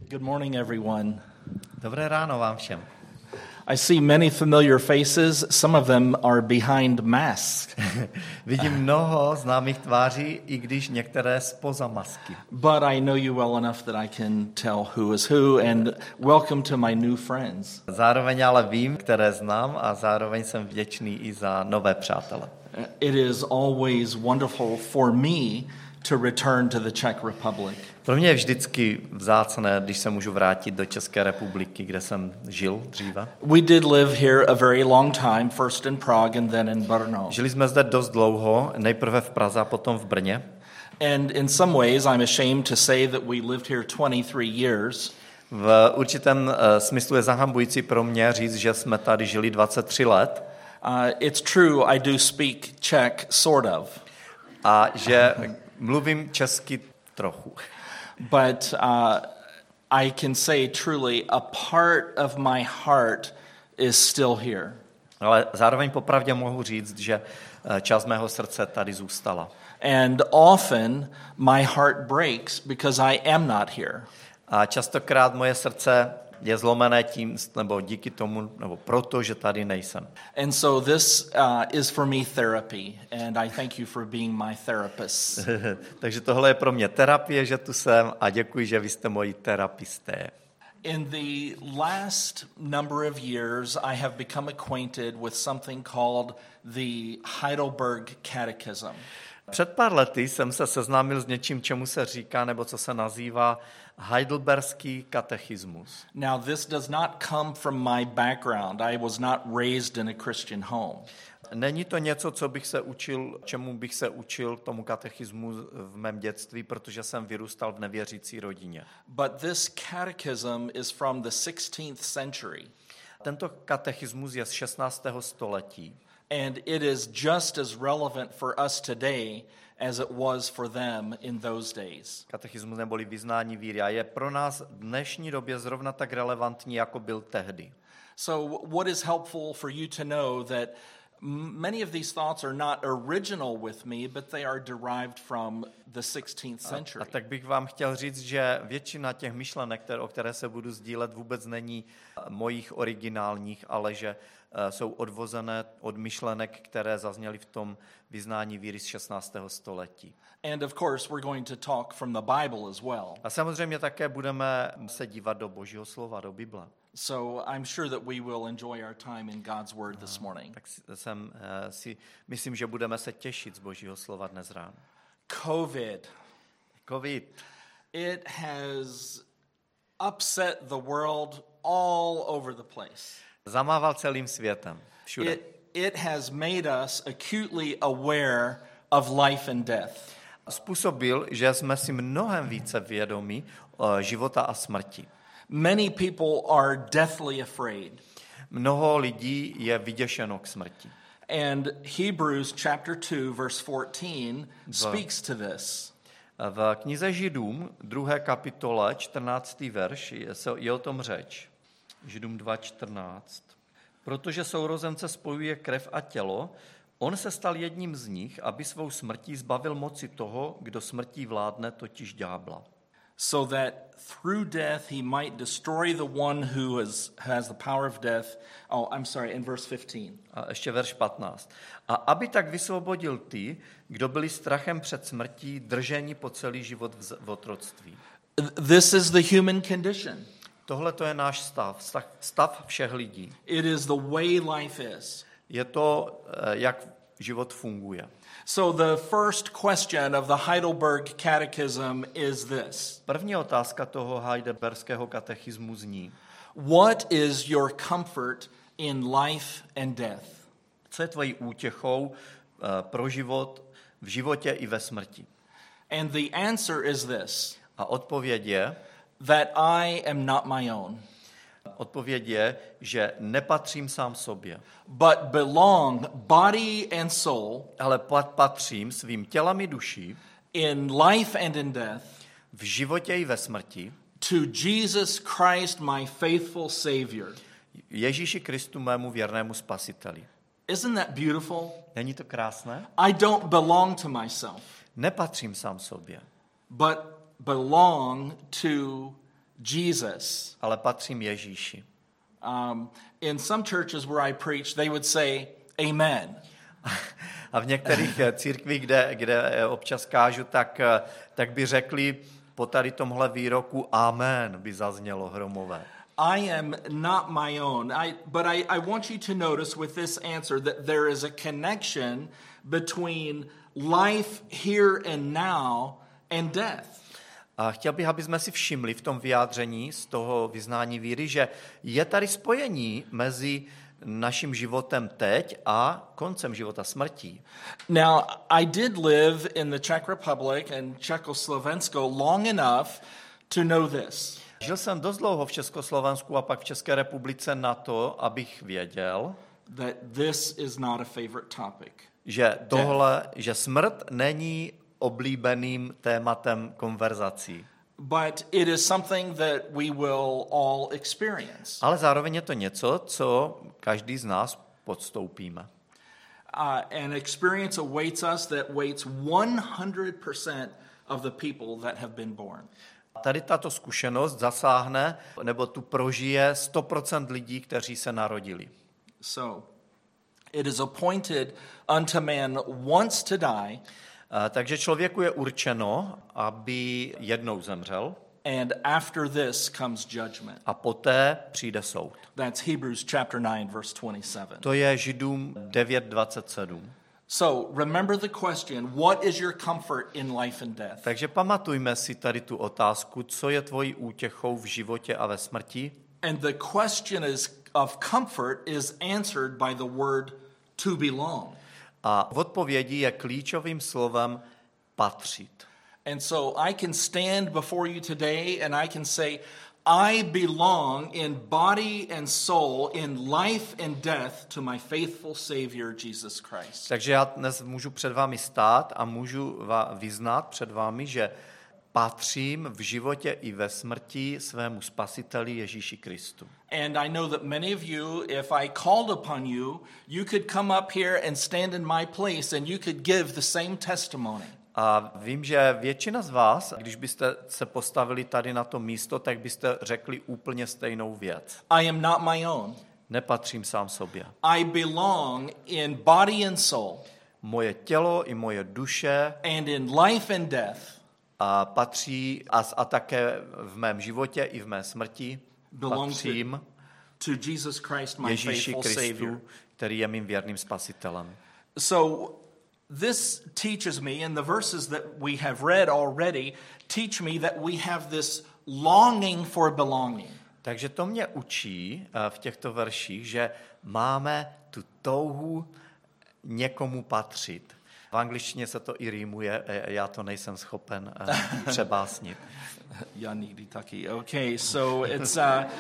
Good morning, everyone. Dobré ráno vám všem. I see many familiar faces. Some of them are behind masks. Vidím mnoho známých tváří, i když některé zpoza masky. But I know you well enough that I can tell who is who, and welcome to my new friends. Zároveň ale vím, které znám, a zároveň jsem vděčný i za nové přátele. It is always wonderful for me to return to the Czech Republic. Pro mě je vždycky vzácné, když se můžu vrátit do České republiky, kde jsem žil dříve. We did live here a very long time, first in Prague and then in Brno. Žili jsme zde dost dlouho, nejprve v Praze a potom v Brně. And in some ways I'm ashamed to say that we lived here 23 years. V určitém smyslu je zahambující pro mě říct, že jsme tady žili 23 let. It's true, I do speak Czech, sort of. A že mluvím česky trochu. But I can say truly a part of my heart is still here. Ale zároveň popravdě mohu říct, že část mého srdce tady zůstala. And often my heart breaks because I am not here. A častokrát moje srdce je zlomené tím, nebo díky tomu, nebo proto, že tady nejsem. And so this is for me therapy, and I thank you for being my therapist. Takže tohle je pro mě terapie, že tu jsem, a děkuji, že vy jste moji terapisté. In the last number of years, I have become acquainted with something called the Heidelberg Catechism. Před pár lety jsem se seznámil s něčím, čemu se říká, nebo co se nazývá Heidelberský katechismus. Now, this does not come from my background. I was not raised in a Christian home. Není to něco, čemu bych se učil tomu katechismu v mém dětství, protože jsem vyrůstal v nevěřící rodině. But this catechism is from the 16th century. Tento katechismus je z 16. století. And it is just as relevant for us today as it was for them in those days. Katechismus neboli vyznání víry a je pro nás v dnešní době zrovna tak relevantní, jako byl tehdy. So what is helpful for you to know that many of these thoughts are not original with me, but they are derived from the 16th century. A tak bych vám chtěl říct, že většina těch myšlenek, o které se budu sdílet, vůbec není mojich originálních, ale že jsou odvozené od myšlenek, které zazněly v tom vyznání víry z 16. století. And of course we're going to talk from the Bible as well. A samozřejmě také budeme se dívat do Božího slova, do Bible. So I'm sure that we will enjoy our time in God's word this morning. Tak myslím, že budeme se těšit z Božího slova dnes ráno. COVID. It has upset the world all over the place. Zamával celým světem, všude. It has made us acutely aware of life and death. Způsobil, že jsme si mnohem více vědomí života a smrti. Many people are deathly afraid. Mnoho lidí je vyděšeno k smrti. And Hebrews chapter 2 verse 14 speaks to this. V knize Židům 2. kapitole 14. verš je o tom řeč. Židům 2:14. Protože sourozence spojuje krev a tělo, on se stal jedním z nich, aby svou smrtí zbavil moci toho, kdo smrtí vládne, totiž ďábla. So that through death he might destroy the one who has the power of death. In verse 15. A ještě verš 15. A aby tak vysvobodil ty, kdo byli strachem před smrtí, drženi po celý život v otroctví. This is the human condition. Tohle to je náš stav všech lidí. It is the way life is. Je to, jak život funguje. So the first question of the Heidelberg Catechism is this. První otázka toho Heidelberského katechismu zní: What is your comfort in life and death? Co je tvojí útěchou pro život, v životě i ve smrti? And the answer is this. A odpověď je, that I am not my own. Odpověď je, že nepatřím sám sobě. But belong body and soul. Ale patřím svým tělem i duší. In life and in death. V životě i ve smrti. To Jesus Christ, my faithful Savior. Ježíši Kristu, mému věrnému spasiteli. Isn't that beautiful? Není to krásné? I don't belong to myself. Nepatřím sám sobě. But belong to Jesus. ale patřím Ježíši. In some churches where I preach, they would say amen. A v některých církvích, kde občas kážu, tak by řekli po tady tomhle výroku amen, by zaznělo hromové. I am not my own, but I want you to notice with this answer that there is a connection between life here and now and death. A chtěl bych, aby jsme si všimli v tom vyjádření z toho vyznání víry, že je tady spojení mezi naším životem teď a koncem života, smrtí. Now, I did live in the Czech Republic and Czechoslovensko long enough to know this. Žil jsem dost dlouho v Československu a pak v České republice na to, abych věděl, that this is not a favorite topic. Že smrt není oblíbeným tématem konverzací. But it is something that we will all experience. Ale zároveň je to něco, co každý z nás podstoupíme. An experience awaits us that waits 100% of the people that have been born. Tady tato zkušenost zasáhne, nebo tu prožije 100% lidí, kteří se narodili. So, it is appointed unto man once to die. Takže člověku je určeno, aby jednou zemřel. And after this comes judgment. A poté přijde soud. That's Hebrews chapter 9 verse 27. To je Židům 9:27. So, remember the question, what is your comfort in life and death? Takže pamatujme si tady tu otázku, co je tvojí útěchou v životě a ve smrti? And the question of comfort is answered by the word to belong. A v odpovědi je klíčovým slovem patřit. And so I can stand before you today and I can say, I belong in body and soul, in life and death to my faithful Savior, Jesus Christ. Takže já dnes můžu před vámi stát a můžu vyznat před vámi, že patřím v životě i ve smrti svému spasiteli Ježíši Kristu. And I know that many of you, if I called upon you, you could come up here and stand in my place and you could give the same testimony. A vím, že většina z vás, když byste se postavili tady na to místo, tak byste řekli úplně stejnou věc. I am not my own. Nepatřím sám sobě. I belong in body and soul. Moje tělo i moje duše and in life and death a patří a také v mém životě i v mé smrti patřím to Jesus Christ, my Ježíši faithful Kristu, Savior. který je mým věrným spasitelem. So this teaches me, and the verses that we have read already teach me that we have this longing for belonging. Takže to mě učí v těchto verších, že máme tu touhu někomu patřit. V angličtině se to i rýmuje, já to nejsem schopen přebásnit. Já nikdy taky. Okay, so it's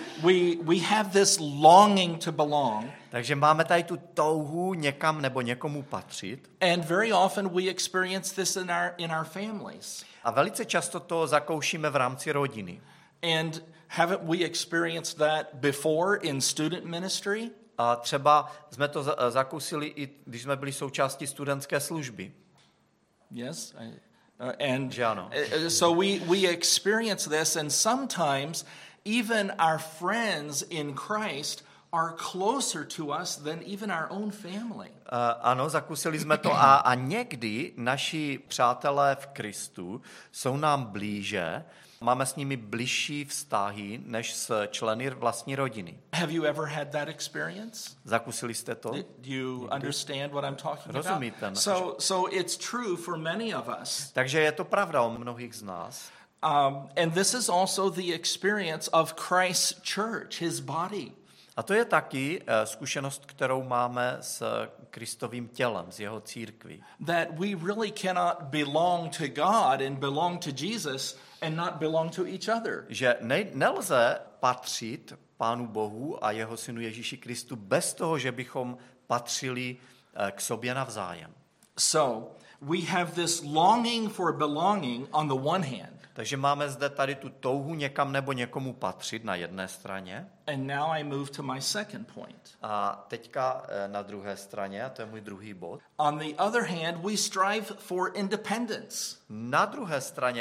we have this longing to belong. Takže máme tady tu touhu někam nebo někomu patřit. And very often we experience this in our families. A velice často to zakoušíme v rámci rodiny. And haven't we experienced that before in student ministry? A třeba jsme to zakusili i když jsme byli součástí studentské služby. Yes, and ano. So we experience this, and sometimes even our friends in Christ are closer to us than even our own family. Ano, zakusili jsme to a někdy naši přátelé v Kristu jsou nám blíže, máme s nimi bližší vztahy než s členy vlastní rodiny. Have you ever had that experience? Zakusili jste to? Do you understand what I'm talking Rozumíte? about? So it's true for many of us. Takže je to pravda o mnohých z nás. And this is also the experience of Christ's church, his body. A to je taky zkušenost, kterou máme s Kristovým tělem, s jeho církví. That we really cannot belong to God and belong to Jesus and not belong to each other. Že nelze patřit Pánu Bohu a jeho synu Ježíši Kristu bez toho, že bychom patřili k sobě navzájem. So, we have this longing for belonging on the one hand. Takže máme zde tady tu touhu někam nebo někomu patřit na jedné straně. And now I move to my second point. A teďka na druhé straně, a to je můj druhý bod. On the other hand, we strive for independence. Na druhé straně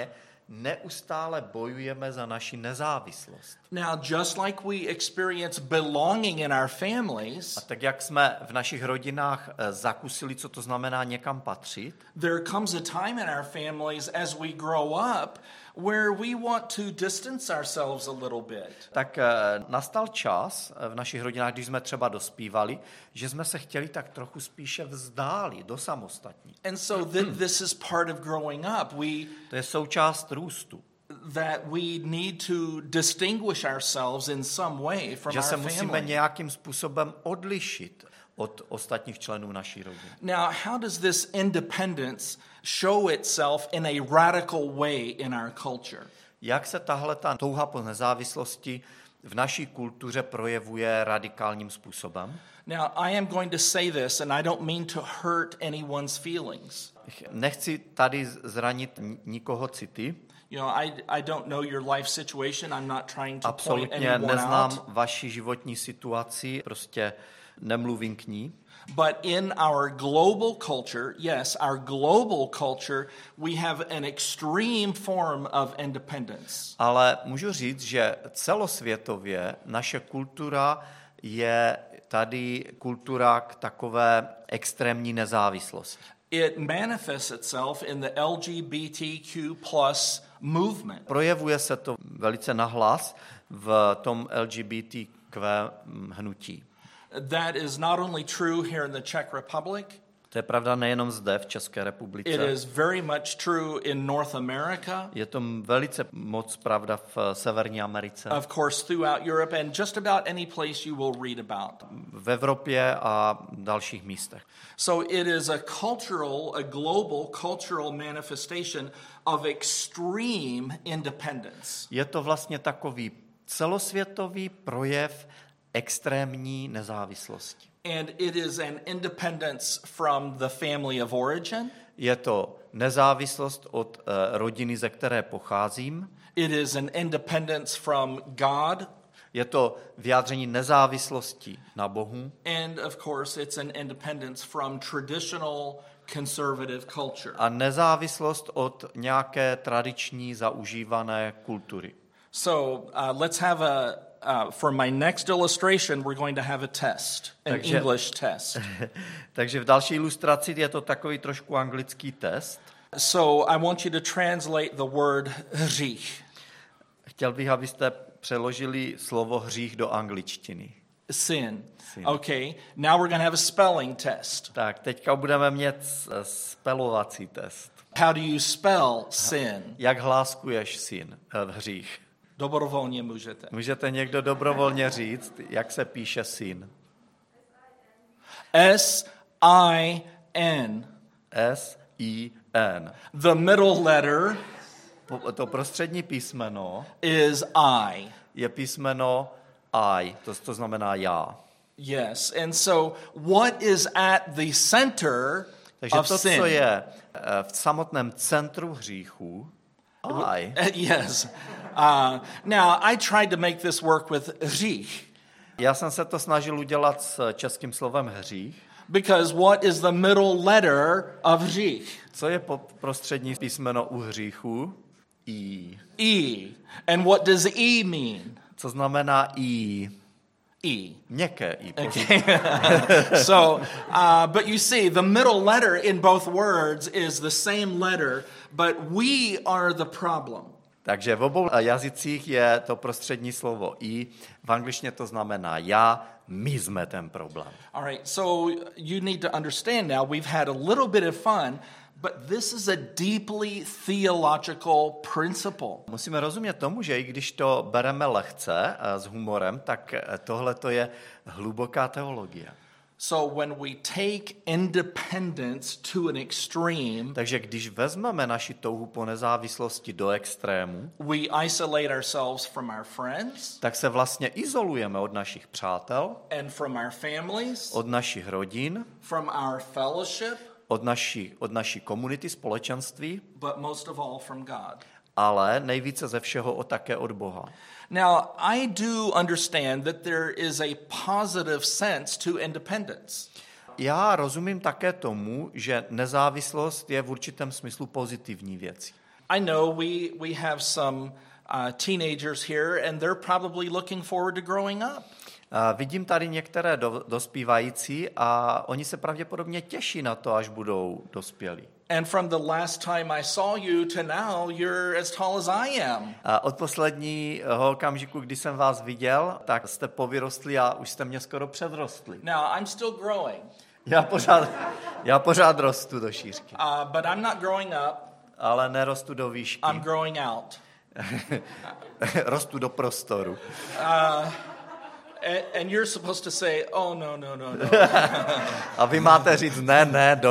neustále bojujeme za naši nezávislost. Now, just like we experience belonging in our families, A tak, jak jsme v našich rodinách zakusili, co to znamená někam patřit, there comes a time in our families as we grow up where we want to distance ourselves a little bit. tak nastal čas v našich rodinách, když jsme třeba dospívali, že jsme se chtěli tak trochu spíše vzdálit, dosamostatnit. And so this is part of growing up. To je součást růstu. That we need to distinguish ourselves in some way from Že our se musíme family. nějakým způsobem odlišit od ostatních členů naší rodiny. Now, how does this independence show itself in a radical way in our culture? Jak se tahle ta touha po nezávislosti v naší kultuře projevuje radikálním způsobem? Now, I am going to say this, and I don't mean to hurt anyone's feelings. Nechci tady zranit nikoho city. You know, I don't know your life situation. I'm not trying to point Absolutně anyone neznám out. vaši životní situaci, prostě nemluvím k ní. But in our global culture, yes, our global culture, we have an extreme form of independence. Ale můžu říct, že celosvětově naše kultura je tady kultura k takové extrémní nezávislosti. It manifests itself in the LGBTQ plus movement. Projevuje se to velice nahlas v tom LGBTQ hnutí. That is not only true here in the Czech Republic, To je pravda nejenom zde v České republice. it is very much true in North America, Je to velice moc pravda v Severní Americe, of course throughout Europe, and just about any place you will read about. v Evropě a dalších místech. So it is a global cultural manifestation of extreme independence. Je to vlastně takový celosvětový projev extrémní nezávislosti. And it is an independence from the family of origin. Je to nezávislost od rodiny, ze které pocházím. It is an independence from God. Je to vyjádření nezávislosti na Bohu. And of course, it's an independence from traditional conservative culture. A nezávislost od nějaké tradiční zaužívané kultury. So let's have for my next illustration, we're going to have a test, an English test. Takže v další ilustraci je to takový trošku anglický test. So I want you to translate the word hřích. Chtěl bych, abyste přeložili slovo hřích do angličtiny. Sin. Okay, now we're going to have a spelling test. Tak, teďka budeme mít spelovací test. How do you spell sin? Jak hláskuješ hřích? Dobrovolně můžete. Můžete někdo dobrovolně říct, jak se píše sin? S-I-N. S-I-N. The middle letter To prostřední písmeno is I. je písmeno I, to znamená já. Yes, and so what is at the center Takže of to, sin? co je v samotném centru hříchu, I. Yes. Now, I tried to make this work with hřích. Já jsem se to snažil udělat s českým slovem hřích. Because what is the middle letter of hřích? Co je prostřední písmeno u hříchu? I. E. And what does E mean? Co znamená I? E. Měkké I. Okay. So, but you see, the middle letter in both words is the same letter, but we are the problem. Takže v obou jazycích je to prostřední slovo I. V angličtině to znamená já, my jsme ten problém. All right, so you need to understand now, we've had a little bit of fun, but this is a deeply theological principle. Musíme rozumět tomu, že i když to bereme lehce s humorem, tak tohle to je hluboká teologie. So when we take independence to an extreme, Takže když vezmeme naši touhu po nezávislosti do extrému, we isolate ourselves from our friends tak se vlastně izolujeme od našich přátel, and from our families, od našich rodin, from our fellowship, od naší komunity, společenství, but most of all from God. ale nejvíce ze všeho také od Boha. Now, I do understand that there is a positive sense to independence. Já rozumím také tomu, že nezávislost je v určitém smyslu pozitivní věcí. I know we have some teenagers here, and they're probably looking forward to growing up. Vidím tady některé dospívající a oni se pravděpodobně těší na to, až budou dospělí. And from the last time I saw you to now, you're as tall as I am. A od posledního okamžiku, kdy jsem vás viděl, tak jste povyrostli a už jste mě skoro předrostli. Now, I'm still growing. Já pořád rostu do šířky. But I'm not growing up. Ale nerostu do výšky. I'm growing out. Rostu do prostoru. And you're supposed to say, oh, no. A vy máte říct, ne,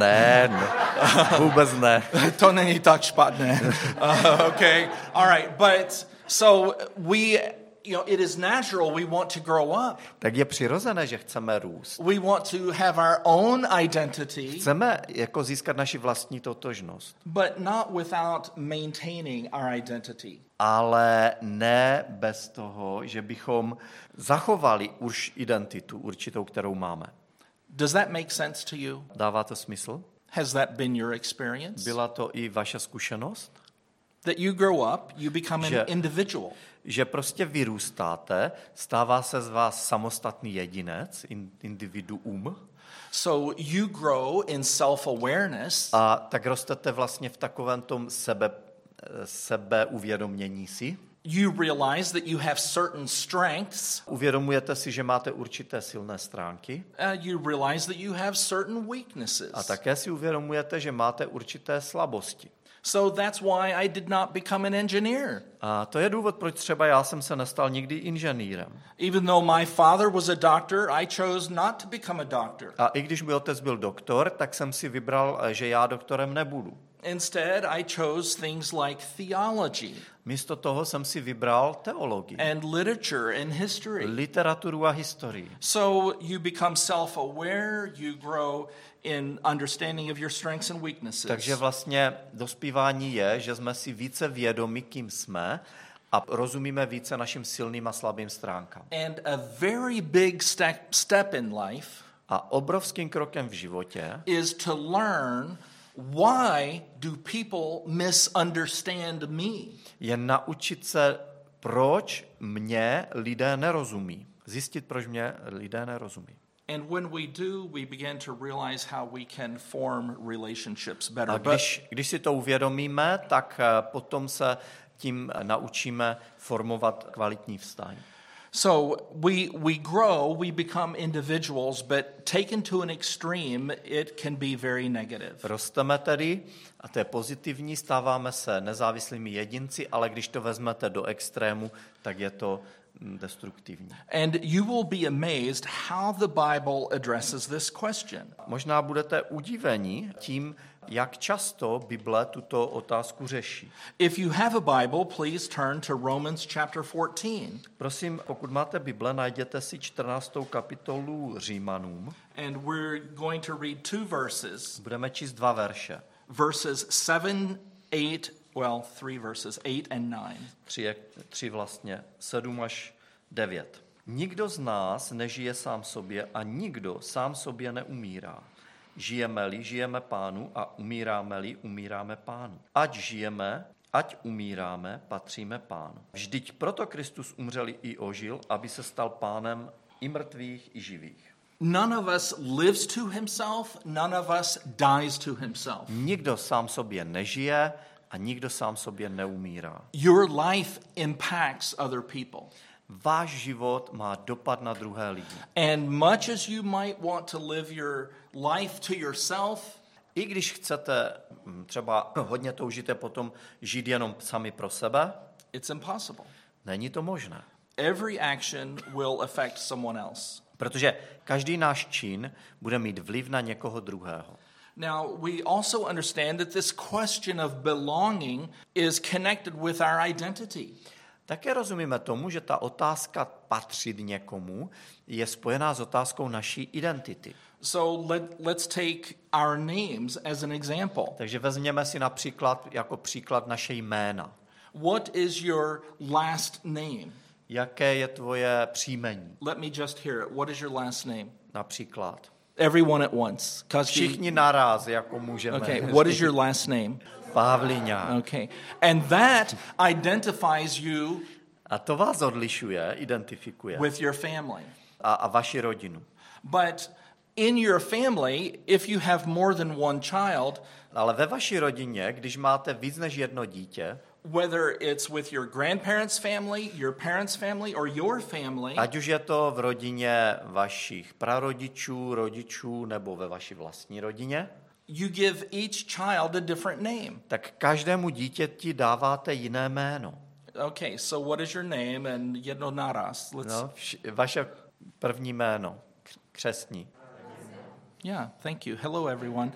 vůbec ne. To není tak špatné. Okay, all right, but so it is natural we want to grow up. Tak je přirozené, že chceme růst. We want to have our own identity. Chceme jako získat naši vlastní totožnost. But not without maintaining our identity. Ale ne bez toho, že bychom zachovali už identitu určitou, kterou máme. Does that make sense to you? Dává to smysl? Has that been your experience? Byla to i vaše zkušenost? That you grow up, you become an individual. Že prostě vyrůstáte, stává se z vás samostatný jedinec, individuum. So you grow in self-awareness. A tak rostete vlastně v takovém tom sebeuvědomění si. You realize that you have certain strengths. Uvědomujete si, že máte určité silné stránky. You realize that you have certain weaknesses. A také si uvědomujete, že máte určité slabosti. So that's why I did not become an engineer. A to je důvod, proč třeba já jsem se nestal nikdy inženýrem. Even though my father was a doctor, I chose not to become a doctor. A i když můj otec byl doktor, tak jsem si vybral, že já doktorem nebudu. Instead, I chose things like theology. Místo toho jsem si vybral teologii. And literature and history. Literaturu a historii. So you become self-aware, you grow in understanding of your strengths and weaknesses. Takže vlastně dospívání je, že jsme si více vědomi, kým jsme, a rozumíme více našim silným a slabým stránkám. And a very big step in life a obrovským krokem v životě is to learn why do people misunderstand me. Je naučit se, proč mě lidé nerozumí. Zjistit, proč mě lidé nerozumí. And when we do, we begin to realize how we can form relationships better. A když si to uvědomíme, tak potom se tím naučíme formovat kvalitní vztahy. So we grow, we become individuals, but taken to an extreme, it can be very negative. Rosteme tedy, a to je pozitivní, stáváme se nezávislými jedinci, ale když to vezmete do extrému, tak je to destruktivní. And you will be amazed how the Bible addresses this question. Možná budete udiveni tím, jak často Bible tuto otázku řeší. If you have a Bible, please turn to Romans chapter 14. Prosím, pokud máte Bible, najděte si 14. kapitolu Římanům. And we're going to read two verses. Budeme číst 2 verše. Verses 7, 8, well, 3 verses, 8 and 9. 3 vlastně, 7 až 9. Nikdo z nás nežije sám sobě a nikdo sám sobě neumírá. Žijeme-li, žijeme Pánu a umíráme-li, umíráme Pánu. Ať žijeme, ať umíráme, patříme Pánu. Vždyť proto Kristus umřel i ožil, aby se stal Pánem i mrtvých, i živých. None of us lives to himself, none of us dies to himself. Nikdo sám sobě nežije a nikdo sám sobě neumírá. Your life impacts other people. Váš život má dopad na druhé lidi. And much as you might want to live your life to yourself, i když chcete třeba hodně toužíte potom žít jenom sami pro sebe, it's impossible. Není to možné. Every action will affect someone else. Protože každý náš čin bude mít vliv na někoho druhého. Now, we also understand that this question of belonging is connected with our identity. Také rozumíme tomu, že ta otázka patřit někomu je spojená s otázkou naší identity. So let's take our names as an example. Takže vezměme si například jako příklad naše jména. What is your last name? Jaké je tvoje příjmení? Let me just hear it. What is your last name? Například. Everyone at once. Všichni naraz, jako můžeme. Okay, what is your last name? Pavlíňák. Okay. And that identifies you A to vás odlišuje, identifikuje with your family. a vaši rodinu. But in your family, if you have more than one child, Ale ve vaší rodině, když máte víc než jedno dítě, whether it's with your grandparents' family, your parents' family, or your family, ať už je to v rodině vašich prarodičů, rodičů nebo ve vaší vlastní rodině, you give each child a different name. tak každému dítěti dáváte jiné jméno. Okay, so what is your name? And jedno naraz. No, vaše první jméno, křestní. Yeah, thank you. Hello, everyone.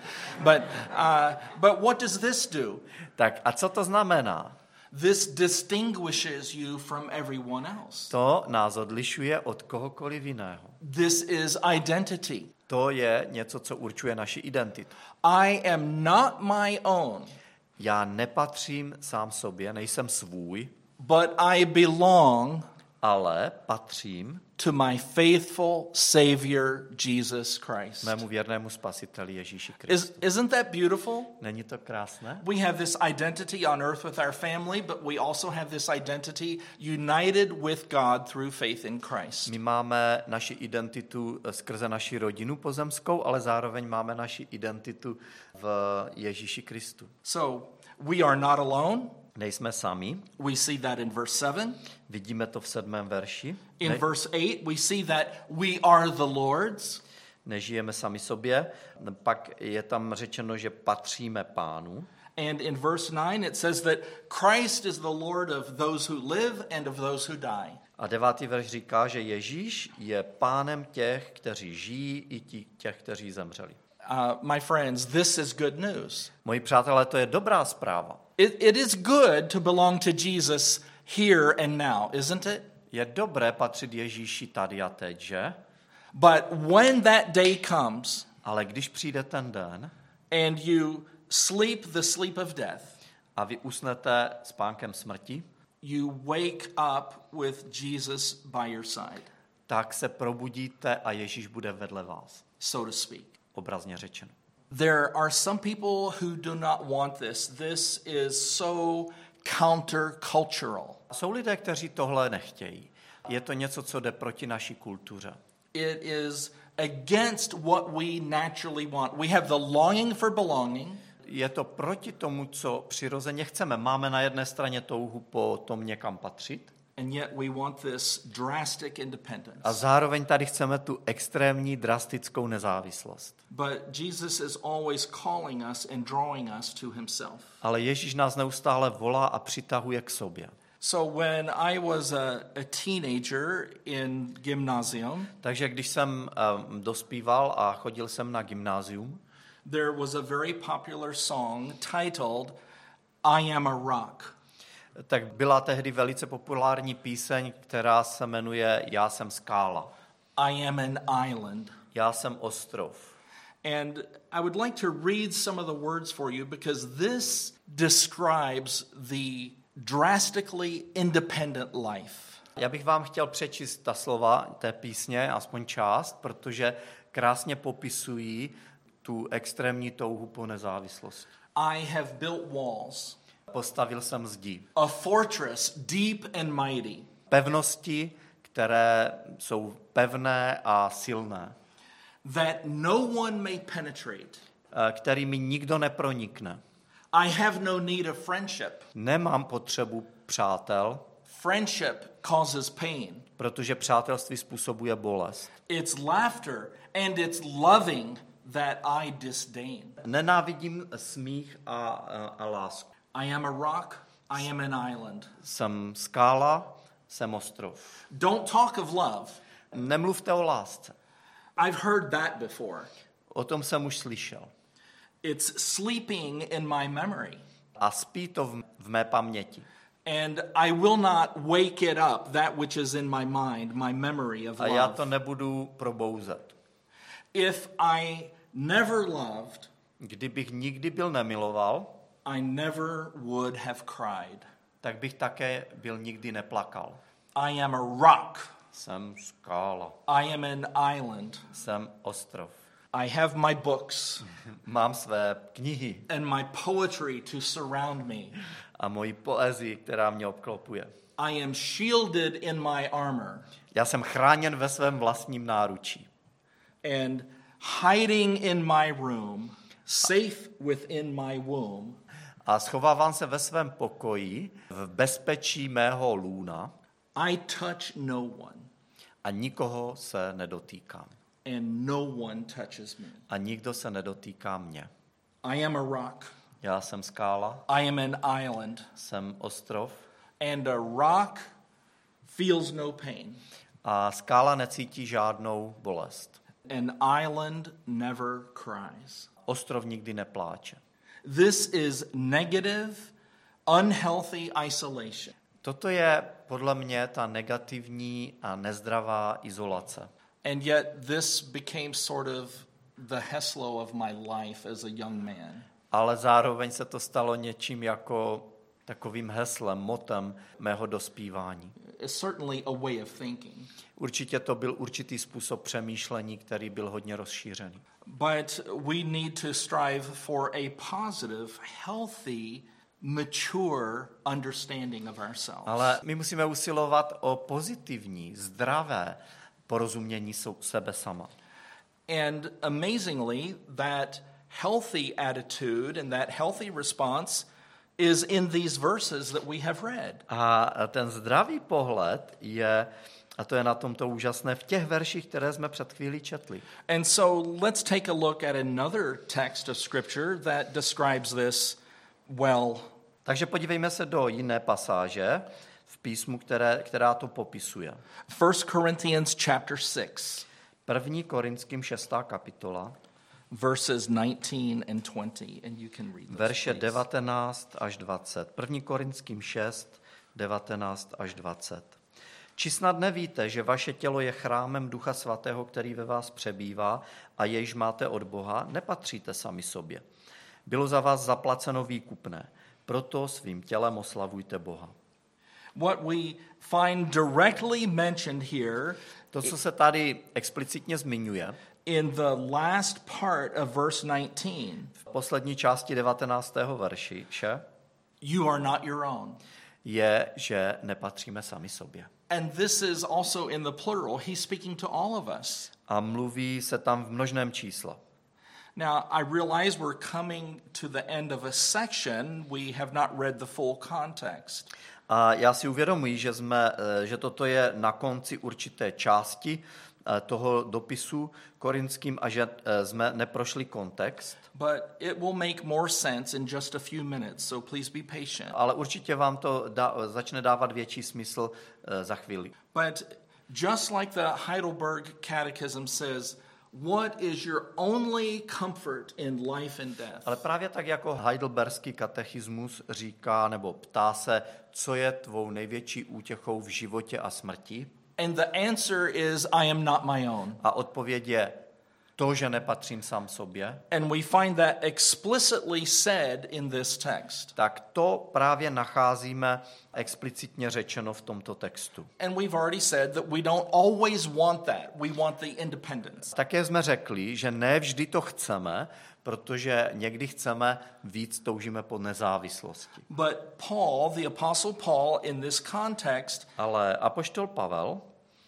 But what does this do? Tak a co to znamená? This distinguishes you from everyone else. To nás odlišuje od kohokoliv jiného. This is identity. To je něco, co určuje naši identitu. I am not my own, Já nepatřím sám sobě, nejsem svůj, but I belong ale patřím to my faithful Savior, Jesus Christ. mému věrnému spasiteli Ježíši Kristu. Isn't that beautiful? Není to krásné? We have this identity on earth with our family, but we also have this identity united with God through faith in Christ. My máme naši identitu skrze naši rodinu pozemskou, ale zároveň máme naši identitu v Ježíši Kristu. So we are not alone. Nejsme sami. We see that in verse 7. Vidíme to v 7. verši. In verse 8, we see that we are the Lord's. Nežijeme sami sobě. Pak je tam řečeno, že patříme Pánu. And in verse 9, it says that Christ is the Lord of those who live and of those who die. A 9. verš říká, že Ježíš je pánem těch, kteří žijí, i těch, kteří zemřeli. My friends, this is good news. Moji přátelé, to je dobrá zpráva. It is good to belong to Jesus here and now, isn't it? Je dobré patřit Ježíši tady a teď, že? But when that day comes, Ale když přijde ten den and you sleep the sleep of death, a vy usnete spánkem smrti, you wake up with Jesus by your side, tak se probudíte a Ježíš bude vedle vás, so to speak. obrazně řečeno. There are some people who do not want this. This is so countercultural. Jsou lidé, kteří tohle nechtějí. Je to něco, co jde proti naší kultuře. It is against what we naturally want. We have the longing for belonging. Je to proti tomu, co přirozeně chceme. Máme na jedné straně touhu po tom někam patřit, And yet we want this drastic independence. a zároveň tady chceme tu extrémní, drastickou nezávislost. But Jesus is always calling us and drawing us to himself. Ale Ježíš nás neustále volá a přitahuje k sobě. So when I was a teenager in gymnasium, Takže když jsem dospíval a chodil jsem na gymnázium, there was a very popular song titled I Am a Rock. tak byla tehdy velice populární píseň, která se jmenuje Já jsem skála. I am an island. Já jsem ostrov. And I would like to read some of the words for you because this describes the drastically independent life. Já bych vám chtěl přečíst ta slova té písně, aspoň část, protože krásně popisují tu extrémní touhu po nezávislosti. I have built walls, Postavil jsem zdi. a fortress deep and mighty, Pevnosti, které jsou pevné a silné, that no one may penetrate. kterými nikdo nepronikne. I have no need of friendship. Nemám potřebu přátel, Friendship causes pain. protože přátelství způsobuje bolest. It's laughter and it's loving that I disdain. Nenávidím smích a lásku. I am a rock, I am an island. Jsem skála, jsem ostrov. Don't talk of love. Nemluvte o lásce. I've heard that before. O tom jsem už slyšel. It's sleeping in my memory. A spí to v mé paměti. And I will not wake it up, that which is in my mind, my memory of A já love. to nebudu probouzet. If I never loved, Kdybych nikdy byl nemiloval, I never would have cried. tak bych také byl nikdy neplakal. I am a rock. Jsem skála, I am an island. jsem ostrov. I have my books Mám své knihy and my poetry to surround me. a moji poezii, která mě obklopuje. I am shielded in my armor. Já jsem chráněn ve svém vlastním náručí. And hiding in my room, safe within my womb, A schovávám se ve svém pokoji, v bezpečí mého lůna I touch no one, a nikoho se nedotýkám. and no one touches me. A nikdo se nedotýká mě. I am a rock. Já jsem skála, I am an island, jsem ostrov and a rock feels no pain. a skála necítí žádnou bolest. An island never cries. Ostrov nikdy nepláče. This is negative, unhealthy isolation. Toto je podle mě ta negativní a nezdravá izolace. And yet this became sort of the Heslo of my life as a young man. Ale zároveň se to stalo něčím jako takovým heslem, motem mého dospívání. It's certainly a way of thinking. Určitě to byl určitý způsob přemýšlení, který byl hodně rozšířený. But we need to strive for a positive, healthy, mature understanding of ourselves. Ale my musíme usilovat o pozitivní, zdravé porozumění sebe sama. And amazingly, that healthy attitude and that healthy response is in these verses that we have read. A ten zdravý pohled je, a to je na tomto úžasné, v těch verších, které jsme před chvílí četli. And so let's take a look at another text of Scripture that describes this well. Takže podívejme se do jiné pasáže v písmu, která to popisuje. 1 Corinthians chapter 6, 1. Korinským 6. kapitola, verses 19 and 20. And you can read those, verše please. 19 až 20. 1. Korinským 6, 19 až 20. Či snad nevíte, že vaše tělo je chrámem Ducha Svatého, který ve vás přebývá a jejž máte od Boha, nepatříte sami sobě. Bylo za vás zaplaceno výkupné, proto svým tělem oslavujte Boha. What we find directly mentioned here To, co se tady explicitně zmiňuje, in the last part of verse 19, v poslední části 19. verše, you are not your own. je, že nepatříme sami sobě. And this is also in the plural. He's speaking to all of us. A mluví se tam v množném čísle. Now, I realize we're coming to the end of a section. We have not read the full context. A já si uvědomuji, že toto je na konci určité části toho dopisu korinským a že jsme neprošli kontext. But it will make more sense in just a few minutes, so please be patient. Ale určitě vám to začne dávat větší smysl za chvíli. But just like the Heidelberg Catechism says, what is your only comfort in life and death? Ale právě tak jako Heidelberský katechismus říká nebo ptá se, co je tvou největší útěchou v životě a smrti? And the answer is, I am not my own. A odpověď je to, že nepatřím sám sobě. And we find that explicitly said in this text. Tak to právě nacházíme explicitně řečeno v tomto textu. And we've already said that we don't always want that. We want the independence. Také jsme řekli, že ne vždy to chceme, protože někdy chceme víc, toužíme po nezávislosti. But Paul, the Apostle Paul, in this context, Ale apoštol Pavel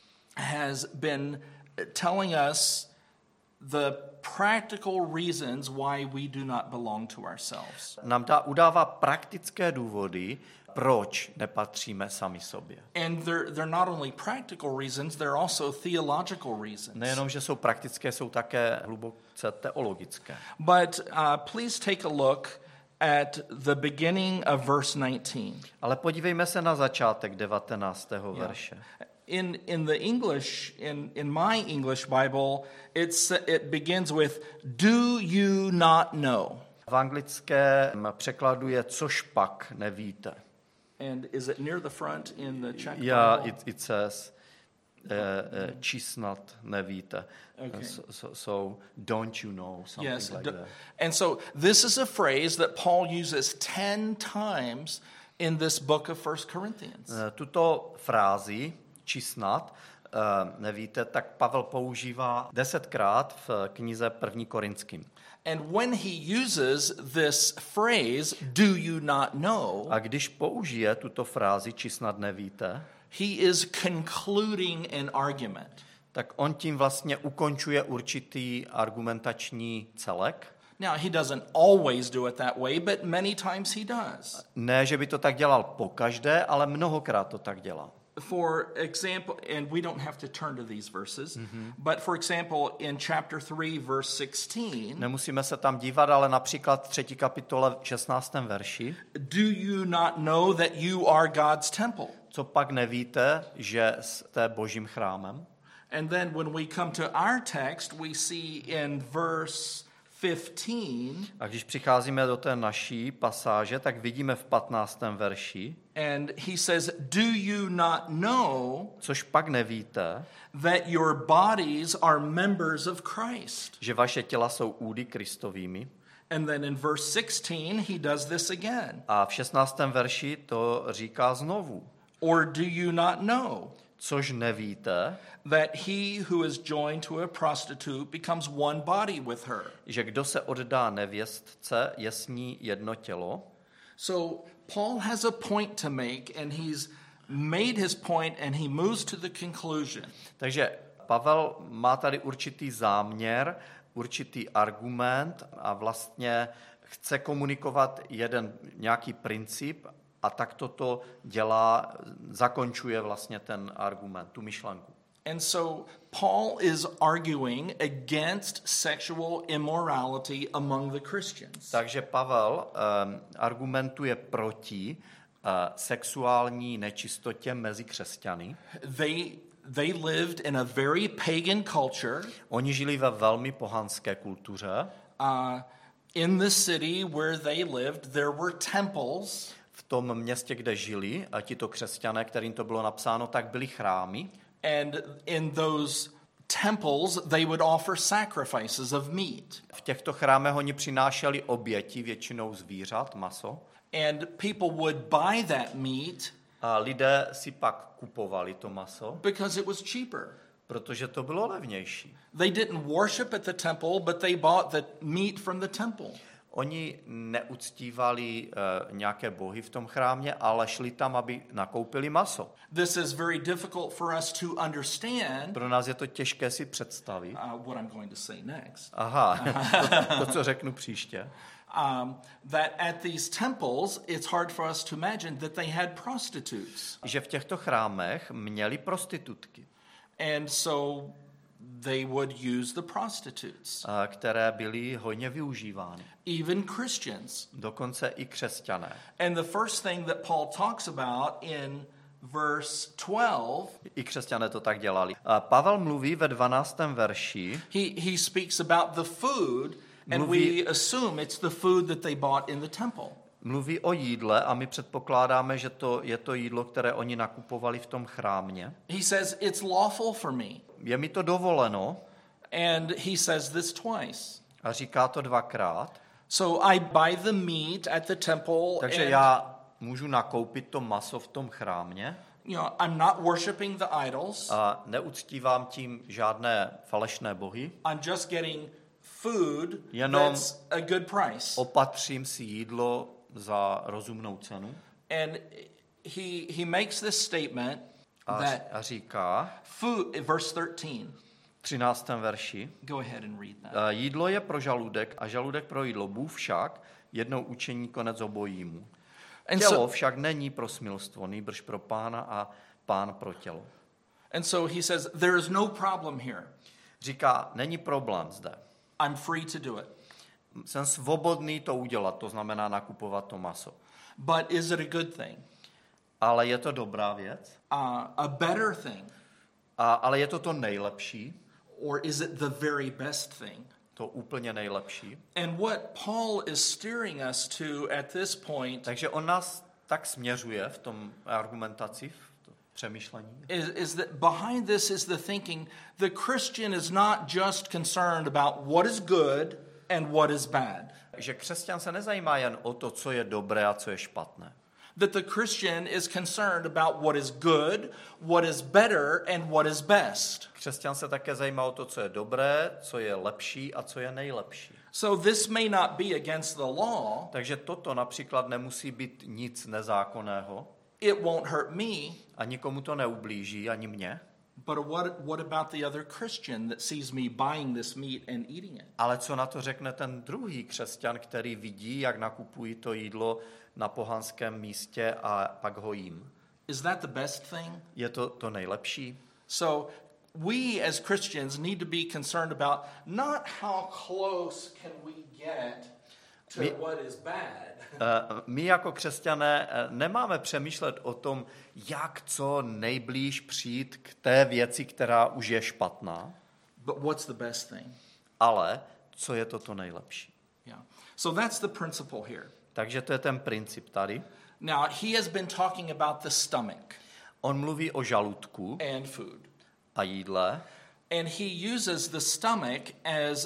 has been telling us the practical reasons why we do not belong to ourselves. nám udává praktické důvody, proč nepatříme sami sobě. And they're not only practical reasons, they're also theological reasons. Nejenom, že jsou praktické, jsou také hluboce teologické. But please take a look at the beginning of verse 19. Ale podívejme se na začátek 19. verše. In the English, in my English Bible, it begins with, do you not know? V anglickém překladu je což pak nevíte. And is it near the front in the Czech Yeah, Bible? it says, či snad nevíte. Okay. So don't you know, something Yes. like that. And so this is a phrase that Paul uses 10 times in this book of 1 Corinthians. Tuto frázi, či snad, nevíte, tak Pavel používá 10krát v knize 1. Korinským. And when he uses this phrase, do you not know, A když použije tuto frázi, či snad nevíte, he is concluding an argument. tak on tím vlastně ukončuje určitý argumentační celek. Now, he doesn't always do it that way, but many times he does. Ne, že by to tak dělal pokaždé, ale mnohokrát to tak dělá. For example, and we don't have to turn to these verses, but for example, in chapter 3, verse 16, Nemusíme se tam dívat, ale například 3. kapitole 16. verši. do you not know that you are God's temple? Co pak nevíte, že jste Božím chrámem? And then when we come to our text, we see in verse 15, A když přicházíme do té naší pasáže, tak vidíme v 15. verši, and he says, do you not know což pak nevíte, that your bodies are members of Christ? že vaše těla jsou údy Kristovými. And then in verse 16, he does this again. A v 16. verši to říká znovu. Or do you not know Což nevíte, that he who is joined to a prostitute becomes one body with her? že kdo se oddá nevěstce, je s ní jedno tělo. So Paul has a point to make, and he's made his point, and he moves to the conclusion. Takže Pavel má tady určitý záměr, určitý argument a vlastně chce komunikovat jeden nějaký princip a tak toto dělá, zakončuje vlastně ten argument, tu myšlenku. And so Paul is arguing against sexual immorality among the Christians. Takže Pavel argumentuje proti sexuální nečistotě mezi křesťany. They lived in a very pagan culture. Oni žili ve velmi pohanské kultuře. In the city where they lived, there were temples. V tom městě, kde žili, a tito křesťané, kterým to bylo napsáno, tak byly chrámy. And in those temples, they would offer sacrifices of meat. V těchto chrámech oni přinášeli oběti, většinou zvířat, maso. And people would buy that meat. A lidé si pak kupovali to maso, because it was cheaper. Protože to bylo levnější. They didn't worship at the temple, but they bought the meat from the temple. Oni neuctívali nějaké bohy v tom chrámě, ale šli tam, aby nakoupili maso. This is very difficult for us to understand. Pro nás je to těžké si představit. What I'm going to say next. Aha, to co řeknu příště. That at these temples, it's hard for us to imagine that they had prostitutes. Že v těchto chrámech měli prostitutky. And so they would use the prostitutes. Které byly hojně využívány. Even Christians. Dokonce i křesťané. And the first thing that Paul talks about in verse 12, i křesťané to tak dělali. Pavel mluví ve 12. verši. He speaks about the food, and we assume it's the food that they bought in the temple. Mluví o jídle a my předpokládáme, že to je to jídlo, které oni nakupovali v tom chrámě. He says it's lawful for me. Je mi to dovoleno. And he says this twice. A říká to dvakrát. So I buy the meat at the temple. Takže já můžu nakoupit to maso v tom chrámě. You know, I'm not worshiping the idols. A neuctívám tím žádné falešné bohy. I'm just getting food that's a good price. Opatřím si jídlo za rozumnou cenu. And he makes this statement that a říká food, verse 13. 13. verši. Go ahead and read that. Jídlo je pro žaludek a žaludek pro jídlo. Bůh však jednou učení konec obojímu. Tělo však není pro smilstvo, nýbrž pro Pána a Pán pro tělo. And so he says there is no problem here. Říká, není problém zde. I'm free to do it. Jsem svobodný to udělat, to znamená nakupovat to maso. But is it a good thing? Ale je to dobrá věc? A better thing? Ale je to to nejlepší? Or is it the very best thing? To úplně nejlepší. And what Paul is steering us to at this point, takže on nás tak směřuje v tom argumentaci, v tom přemýšlení, is that behind this is the thinking the Christian is not just concerned about what is good and what is bad. Že křesťan se nezajímá jen o to, co je dobré a co je špatné. That the Christian is concerned about what is good, what is better, and what is best. Křesťan se také zajímá o to, co je dobré, co je lepší a co je nejlepší. So this may not be against the law. Takže toto například nemusí být nic nezákonného. It won't hurt me. A nikomu to neublíží, ani mně. But what about the other Christian that sees me buying this meat and eating it? Ale co na to řekne ten druhý křesťan, který vidí, jak nakupují to jídlo na pohanském místě a pak ho jím? Is that the best thing? Je to nejlepší? So we as Christians need to be concerned about not how close can we get to what is bad. My jako křesťané nemáme přemýšlet o tom, jak co nejblíž přijít k té věci, která už je špatná. But what's the best thing? Ale co je to nejlepší? Yeah. So that's the principle here. Takže to je ten princip tady. Now, he has been talking about the stomach On mluví o žaludku and food. a jídle. And he uses the stomach as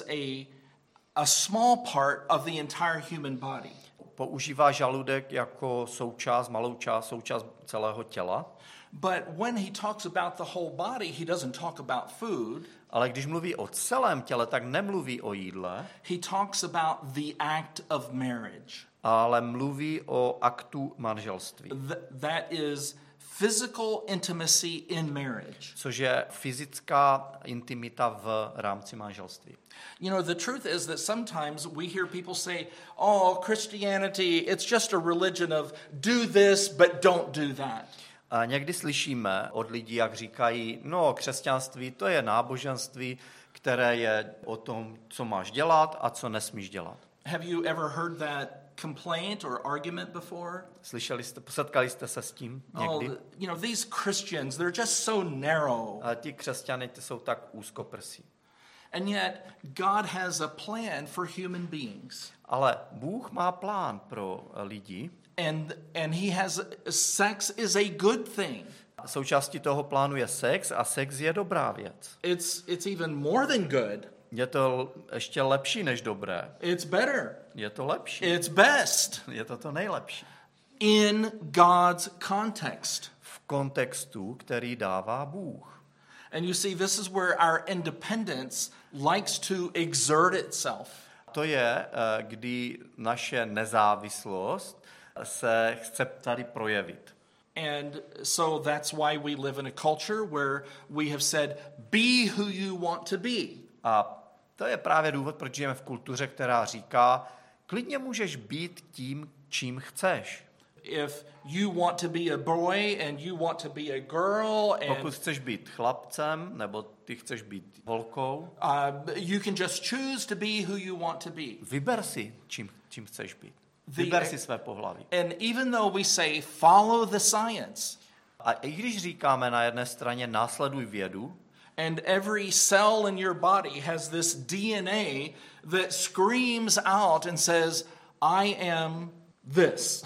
a small part of the entire human body. Používá žaludek jako malou součást celého těla. But when he talks about the whole body, he doesn't talk about food. Ale když mluví o celém těle, tak nemluví o jídle, He talks about the act of marriage. ale mluví o aktu manželství, That is physical intimacy in marriage. což je fyzická intimita v rámci manželství. You know, the truth is that sometimes we hear people say, oh, Christianity, it's just a religion of do this, but don't do that. A někdy slyšíme od lidí, jak říkají, no, křesťanství to je náboženství, které je o tom, co máš dělat a co nesmíš dělat. Have you ever heard that complaint or argument before? Setkali jste se s tím někdy? You know, these Christians, they're just so narrow. A ti křesťané ty jsou tak úzkoprsí. And yet, God has a plan for human beings. Ale Bůh má plán pro lidi. And he has sex is a good thing. Součástí toho plánu je sex a sex je dobrá věc. It's even more than good. Je to ještě lepší než dobré. It's better. Je to lepší. It's best. Je to nejlepší. In God's context. V kontextu, který dává Bůh. And you see, this is where our independence likes to exert itself. To je, kdy naše nezávislost se chce tady projevit. And so that's why we live in a culture where we have said, be who you want to be. A to je právě důvod, proč žijeme v kultuře, která říká, klidně můžeš být tím, čím chceš. If you want to be a boy and you want to be a girl Pokud and chceš být chlapcem, nebo ty chceš být holkou, you can just choose to be who you want to be. vyber si, čím chceš být. Vyber si své pohlaví. And even though we say follow the science, A i když říkáme na jedné straně následuj vědu, and every cell in your body has this DNA that screams out and says, I am this.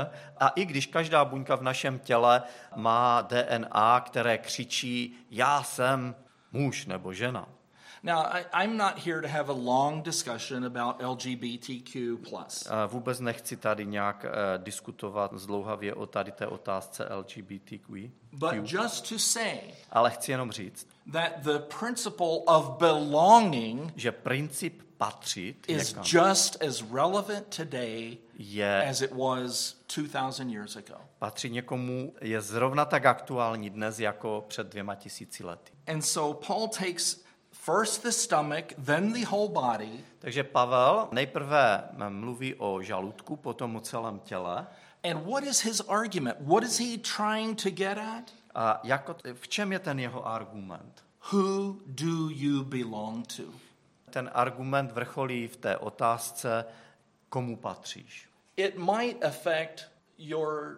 a i když každá buňka v našem těle má DNA, které křičí, já jsem muž nebo žena. Now, I'm not here to have a long discussion about LGBTQ+. Vůbec nechci tady nějak diskutovat zdlouhavě o tady té otázce LGBTQ. But just to say Ale chci jenom říct, that the principle of belonging že princip patřit is někam just as relevant today je as it was 2000 years ago. patřit někomu je zrovna tak aktuální dnes jako před 2000 lety. And so Paul takes first the stomach, then the whole body, Takže Pavel nejprve mluví o žaludku, potom o celém těle. and what is his argument? What is he trying to get at? A v čem je ten jeho argument? Who do you belong to? Ten argument vrcholí v té otázce, komu patříš. It might affect your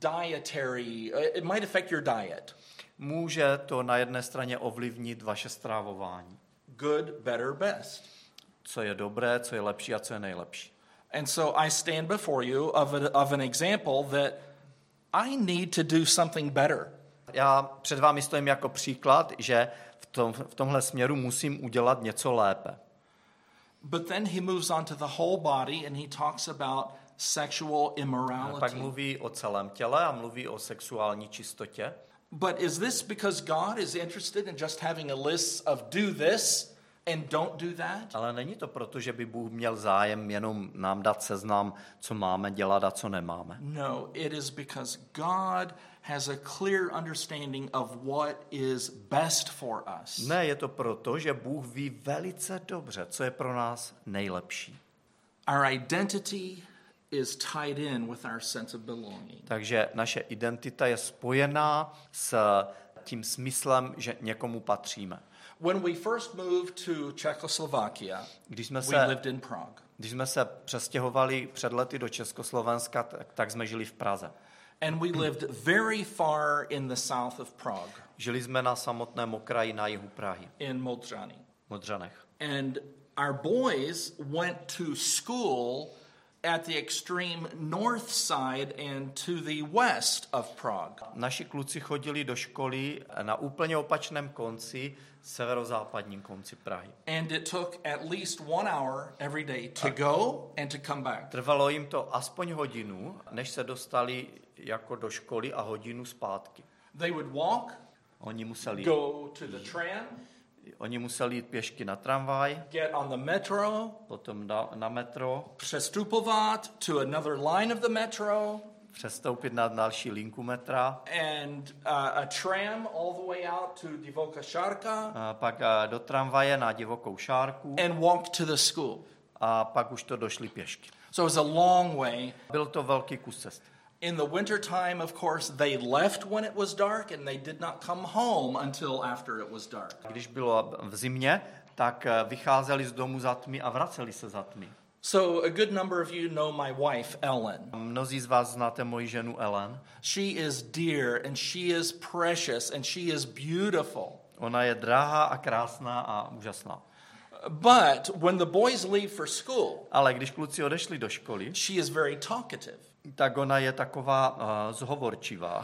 it might affect your diet. Může to na jedné straně ovlivnit vaše strávování. Good, better, best. Co je dobré, co je lepší a co je nejlepší. And so I stand before you of an example that I need to do something better. Já před vámi stojím jako příklad, že v tomhle směru musím udělat něco lépe. But then he moves on to the whole body and he talks about sexual Pak immorality. mluví o celém těle a mluví o sexuální čistotě. But is this because God is interested in just having a list of do this and don't do that? Ale není to proto, že by Bůh měl zájem jenom nám dát seznam, co máme dělat a co nemáme. No, it is because God has a clear understanding of what is best for us. Ne, je to proto, že Bůh ví velice dobře, co je pro nás nejlepší. Our identity is tied in with our sense of belonging. Takže naše identita je spojená s tím smyslem, že někomu patříme. When we first moved to Czechoslovakia, Když we jsme lived in Prague. se přestěhovali před lety do Československa, tak jsme žili v Praze. And we lived very far in the south of Prague, Žili jsme na samotném okraji na jihu Prahy, in Modřany. Modřanech. And our boys went to school at the extreme north side and to the west of Prague. Naši kluci chodili do školy na úplně opačném konci, severozápadním konci Prahy. And it took at least 1 hour every day to go and to come back. Trvalo jim to aspoň hodinu, než se dostali jako do školy a hodinu zpátky. They would walk, Oni museli jít pěšky na tramvaj, get on the metro, potom na metro, přestupovat to another line of the metro, přestoupit na další linku metra, and a tram all the way out to Divoká Šárka, a pak do tramvaje na Divokou Šárku and walk to the school. a pak už to došli pěšky. So it was a long way. Byl to velký kus cesty. In the winter time, of course, they left when it was dark and they did not come home until after it was dark. Když bylo v zimě, tak vycházeli z domu za tmy a vraceli se za tmy. So a good number of you know my wife, Ellen. Mnozí z vás znáte moji ženu Ellen. She is dear and she is precious and she is beautiful. Ona je drahá a krásná a úžasná. But when the boys leave for school, Ale když kluci odešli do školy, she is very talkative. tak ona je taková zhovorčivá.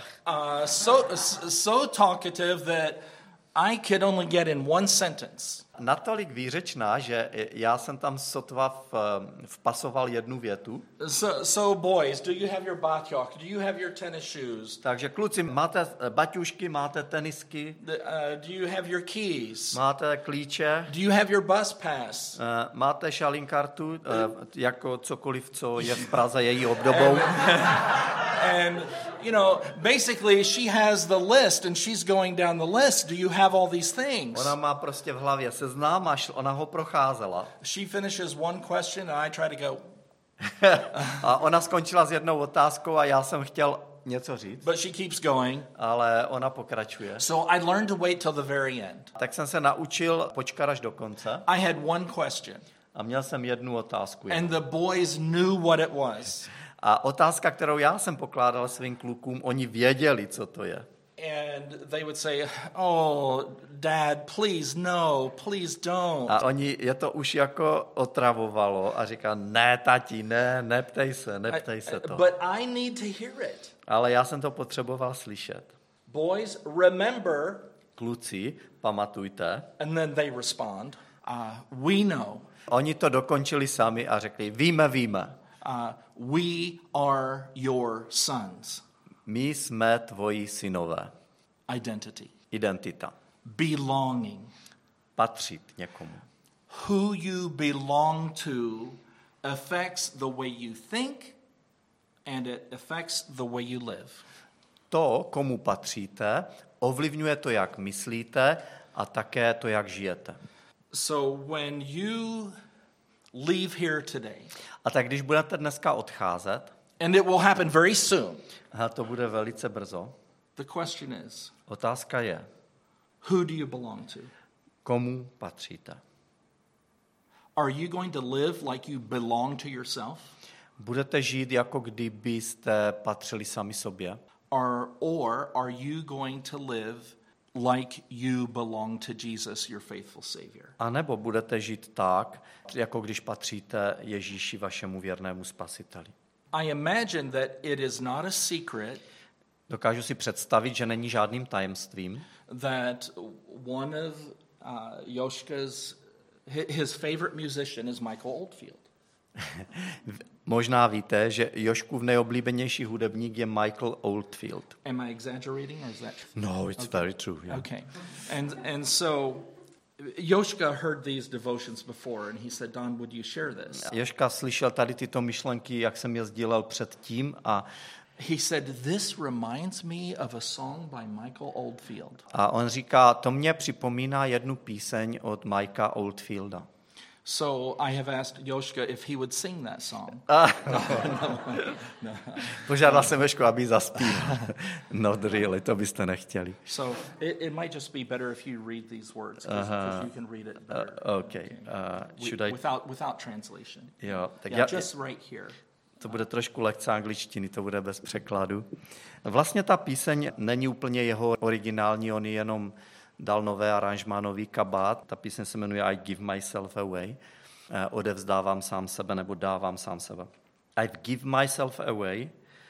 So talkative that I could only get in one sentence. Natolik výřečná, že já jsem tam sotva vpasoval jednu větu. So boys, do you have your baťoch? Do you have your tennis shoes? Takže kluci, máte baťušky, máte tenisky, Do you have your keys? máte klíče, Do you have your bus pass? máte šalinkartu, jako cokoliv, co je v Praze její obdobou. And, you know, basically she has the list and she's going down the list. Do you have all these things? Ona má prostě v hlavě seznam a ona ho procházela. She finishes one question and I try to go, A ona skončila s jednou otázkou a já jsem chtěl něco říct, but she keeps going. ale ona pokračuje. So I learned to wait till the very end. Tak jsem se naučil počkat až do konce I had one question a měl jsem jednu otázku. and the boys knew what it was. A otázka, kterou já jsem pokládal svým klukům, oni věděli, co to je. And they would say, oh, Dad, please no, please don't. A oni je to už jako otravovalo a říká, ne, tati, ne, neptej se to. But I need to hear it. Ale já jsem to potřeboval slyšet. Boys, remember, Kluci, pamatujte. and then they respond, we know. Oni to dokončili sami a řekli, víme. We are your sons. My jsme tvoji synové. Identity. Identita. Belonging. Patřit někomu. Who you belong to affects the way you think and it affects the way you live. To, komu patříte, ovlivňuje to, jak myslíte a také to, jak žijete. So when you leave here today, A tak když budete dneska odcházet, and it will happen very soon, a to bude velice brzo, the question is, otázka je, who do you belong to? komu patříte? Are you going to live like you belong to yourself? Budete žít, jako kdybyste patřili sami sobě? Or are you going to live like you belong to Jesus, your faithful Savior? A nebo budete žít tak, jako když patříte Ježíši, vašemu věrnému spasiteli? I imagine that it is not a secret Dokážu si představit, že není žádným tajemstvím, that one of Joška's his favorite musician is Michael Oldfield. Možná víte, že Joškův nejoblíbenější hudebník je Michael Oldfield. Am I exaggerating or is that true? No, it's very true. Yeah. Okay. And so Joshka heard these devotions before and he said, Don, would you share this? Joška slyšel tady tyto myšlenky, jak jsem je sdílel předtím a he said, this reminds me of a song by Michael Oldfield. A on říká, to mě připomíná jednu píseň od Mikea Oldfielda. So I have asked Joshka if he would sing that song. No. Požádal jsem Jošku, aby zaspíval. Not really, to byste nechtěli. So it might just be better if you read these words, because you can read it better. Okay. Without translation. Jo, tak just right here. To bude trošku lehce angličtiny, to bude bez překladu. Vlastně ta píseň není úplně jeho originální, on jenom dal nové aranžmá, nový kabát. Ta píseň se jmenuje I give myself away. Odevzdávám sám sebe, nebo dávám sám sebe. I give myself away,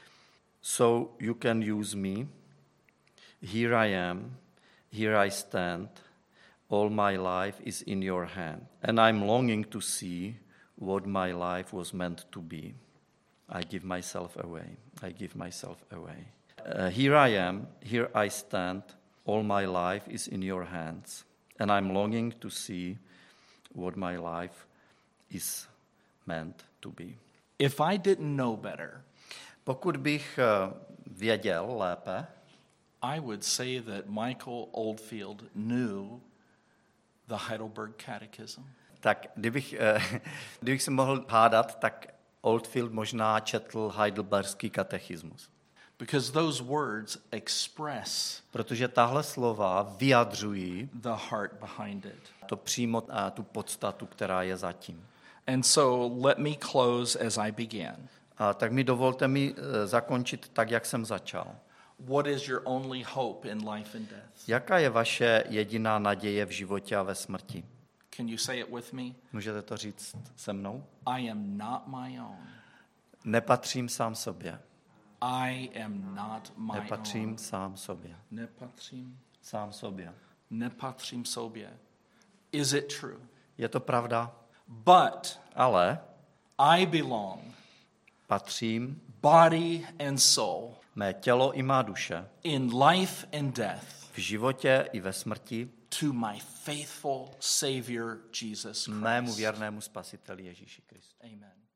so you can use me. Here I am, here I stand. All my life is in your hand. And I'm longing to see what my life was meant to be. I give myself away. I give myself away. Here I am, here I stand. All my life is in your hands. And I'm longing to see what my life is meant to be. If I didn't know better, pokud bych věděl lépe, I would say that Michael Oldfield knew the Heidelberg Catechism. Tak kdybych se mohl hádat, tak Oldfield možná četl Heidelberský katechismus. Because those words express, protože tahle slova vyjadřují the heart behind it. To přímo tu podstatu, která je zatím. And so let me close as I began. A tak mi dovolte zakončit tak, jak jsem začal. What is your only hope in life and death? Jaká je vaše jediná naděje v životě a ve smrti? Can you say it with me? Můžete to říct se mnou? I am not my own. Nepatřím sám sobě. I am not my Nepatřím own. sám sobě. Nepatřím sám sobě. Nepatřím sobě. Is it true? Je to pravda? But ale I belong. Patřím. Body and soul. Mé tělo i má duše. In life and death. V životě i ve smrti. To my faithful Savior Jesus Christ. Mému věrnému spasiteli Ježíši Kristu. Amen.